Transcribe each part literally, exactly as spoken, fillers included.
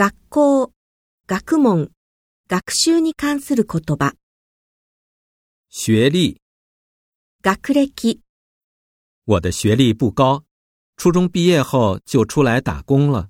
学校、学問、学習に関する言葉。 学历， 学歴、 我的学历不高，初中毕业后就出来打工了。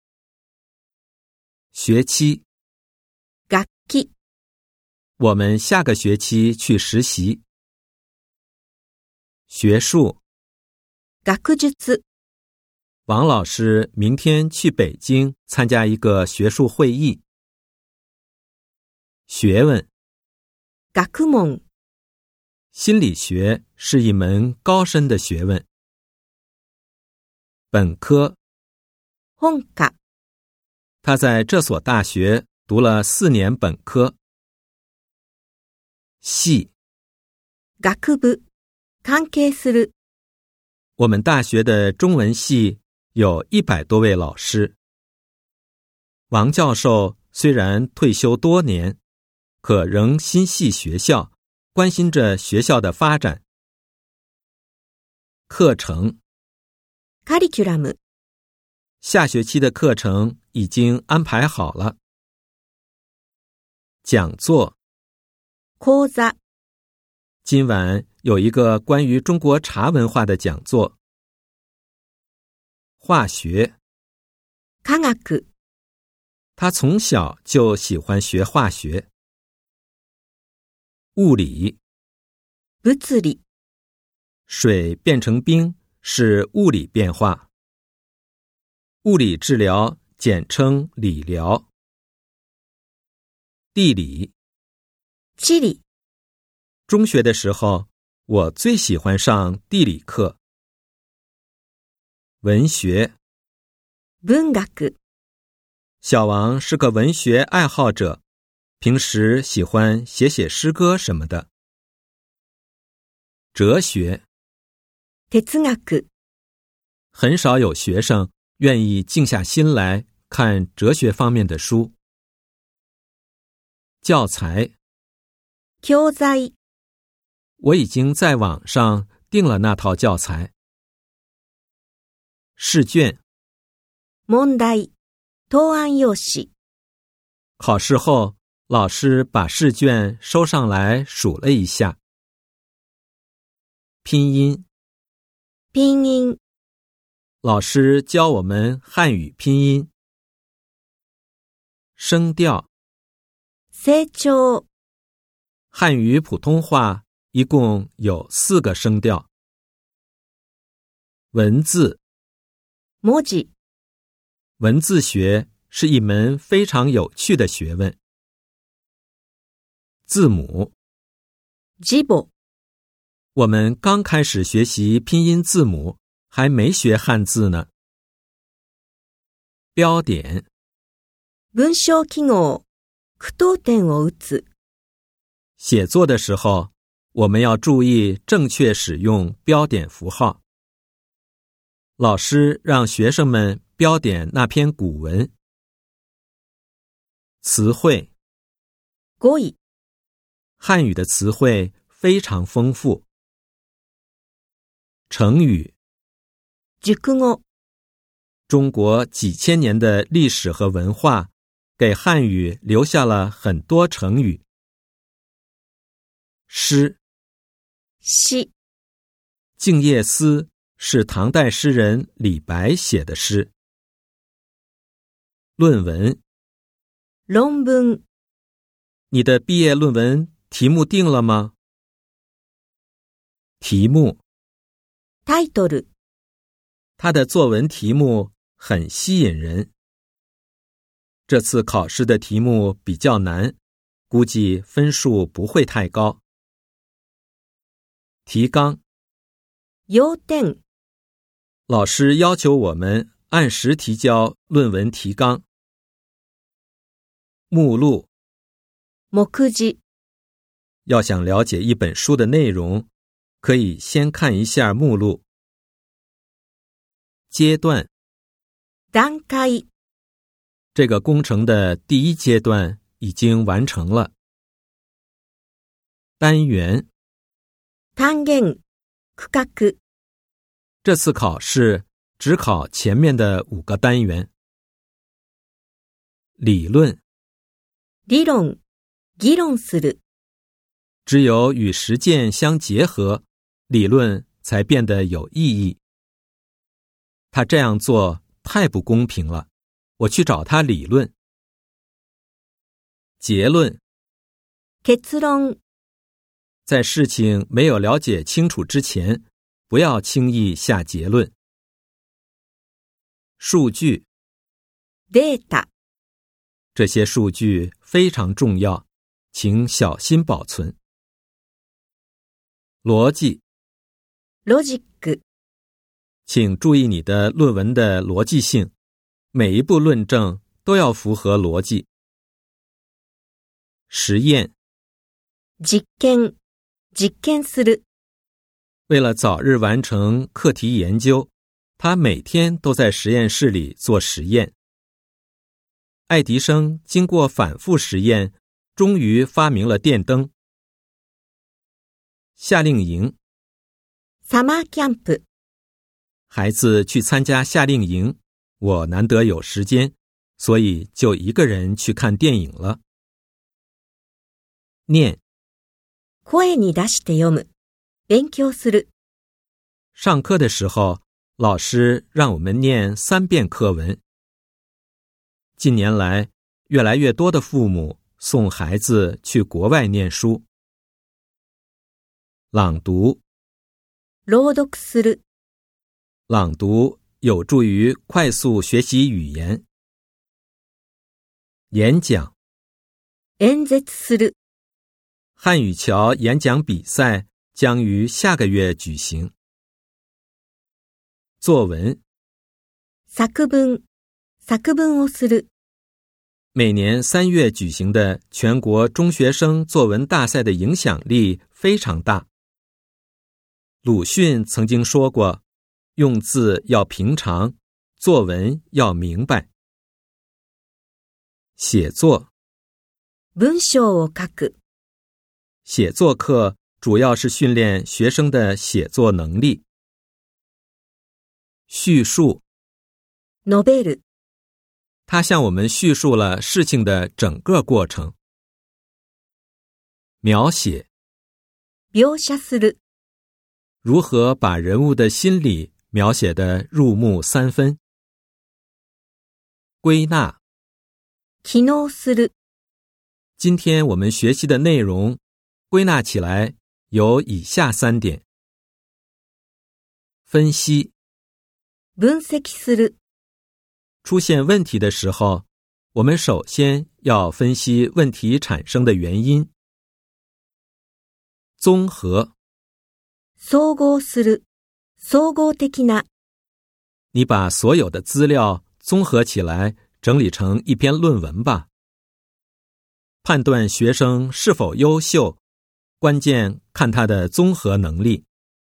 学期， 学期、 我们下个学期去实习。学术， 学術、 王老师明天去北京参加一个学术会议。学问， 学問、 心理学是一门高深的学问。本科， 本科、 他在这所大学读了四年本科。系， 学部、関係する、 我们大学的中文系有一百多位老师。王教授虽然退休多年，可仍心系学校，关心着学校的发展。课程， カリキュラム、 下学期的课程已经安排好了。讲座， 講座、 今晚有一个关于中国茶文化的讲座。化学， 科学、 他从小就喜欢学化学。物理， 物理、 水变成冰是物理变化。物理治疗简称理疗。地理， 地理、 中学的时候我最喜欢上地理课。文学， 文学、 小王是个文学爱好者，平时喜欢写写诗歌什么的。哲学， 哲学、 很少有学生愿意静下心来看哲学方面的书。教材， 教材、 我已经在网上订了那套教材。试卷， 問題、答案用紙。 考试后老师把试卷收上来数了一下。拼音， 拼音、 老师教我们汉语拼音。声调， 成長、 汉语普通话一共有四个声调。文字， 文字、 文字学是一门非常有趣的学问。字母， 字母、 我们刚开始学习拼音字母，还没学汉字呢。标点， 文章記号、句読点を打つ。 写作的时候，我们要注意正确使用标点符号。老师让学生们标点那篇古文。词汇， 語彙、 汉语的词汇非常丰富。成语， 熟語、 中国几千年的历史和文化，给汉语留下了很多成语。诗， 詩、 静夜思是唐代诗人李白写的诗。论文， 論文、 你的毕业论文题目定了吗？题目， タイトル、 他的作文题目很吸引人。这次考试的题目比较难，估计分数不会太高。提纲， 要点、 老师要求我们按时提交论文提纲。目录， 目次、 要想了解一本书的内容，可以先看一下目录。阶段， 段階、 这个工程的第一阶段已经完成了。单元， 単元、区画。 这次考试只考前面的五个单元。 理论。 理論、議論する。 只有与实践相结合，理论才变得有意义。他这样做太不公平了，我去找他理论。结论。 結論。 在事情没有了解清楚之前，不要轻易下结论。数据。 データ。 这些数据非常重要，请小心保存。逻辑。 ロジック。 请注意你的论文的逻辑性，每一步论证都要符合逻辑。实验。 実験、実験する。 为了早日完成课题研究，他每天都在实验室里做实验。爱迪生经过反复实验，终于发明了电灯。夏令营。 サマーキャンプ。 孩子去参加夏令营，我难得有时间，所以就一个人去看电影了。念。 声に出して読む。勉強する。 上课的时候，老师让我们念三遍课文。近年来，越来越多的父母送孩子去国外念书。朗读。 朗読する。 朗读有助于快速学习语言。演讲。 演説する。 汉语桥演讲比赛将于下个月举行。作文。 作文、作文をする。 每年三月举行的全国中学生作文大赛的影响力非常大。鲁迅曾经说过，用字要平常，作文要明白。写作。 文章を書く。 写作课主要是训练学生的写作能力。叙述。 述べる。 他向我们叙述了事情的整个过程。描写。 描写する。 如何把人物的心理描写得入木三分。归纳。 記納する。 今天我们学习的内容归纳起来有以下三点。分析。 分析する。 出现问题的时候，我们首先要分析问题产生的原因。综合。 総合する。総合的な。 你把所有的资料综合起来，整理成一篇论文吧。判断学生是否优秀，关键看他的综合能力。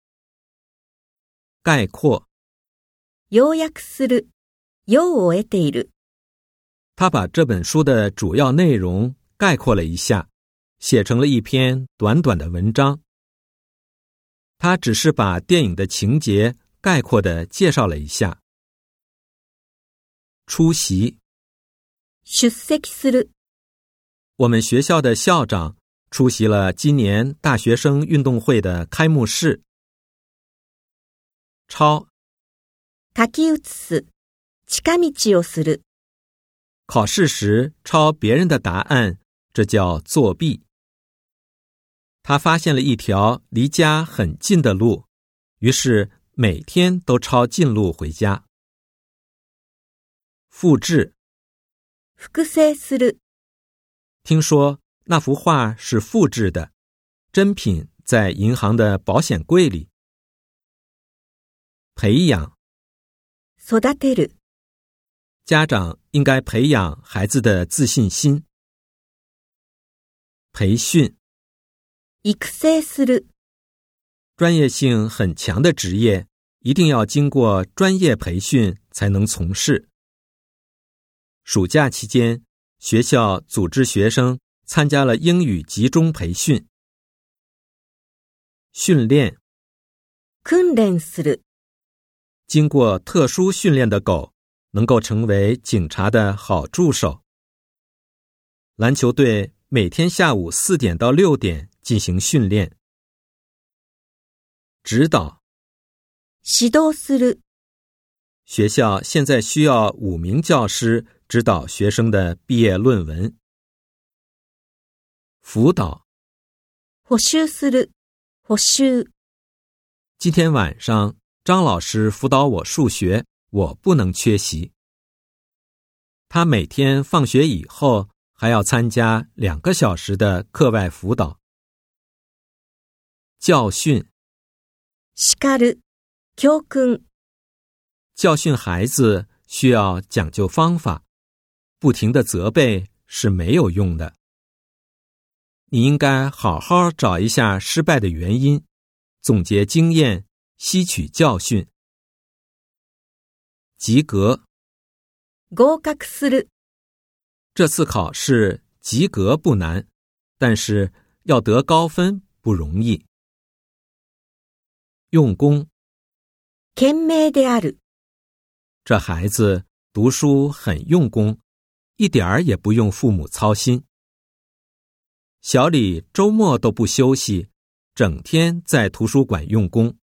概括。 要約する。用を得ている。 他把这本书的主要内容概括了一下，写成了一篇短短的文章。他只是把电影的情节概括地介绍了一下。出席。 出席する。 我们学校的校长出席了今年大学生运动会的开幕式。抄。 書き写す。近道をする。 考试时抄别人的答案，这叫作弊。他发现了一条离家很近的路，于是每天都抄近路回家。复制。 複製する。 听说那幅画是复制的，真品在银行的保险柜里。培养。 育てる。 家长应该培养孩子的自信心。培训。 育成する。 专业性很强的职业，一定要经过专业培训才能从事。暑假期间，学校组织学生参加了英语集中培训。训练。 訓練する。 经过特殊训练的狗能够成为警察的好助手。 篮球队每天下午四点到六点进行训练。指导。 指導する。 学校现在需要五名教师指导学生的毕业论文。辅导。 補習する。補習。 今天晚上张老师辅导我数学，我不能缺席。他每天放学以后还要参加两个小时的课外辅导。教训。 叱る。教訓。 教训孩子需要讲究方法，不停的责备是没有用的。你应该好好找一下失败的原因，总结经验，吸取教训。及格。 合格する。 这次考试及格不难，但是要得高分不容易。用功。 賢明である。 这孩子读书很用功，一点儿也不用父母操心。小李周末都不休息，整天在图书馆用功。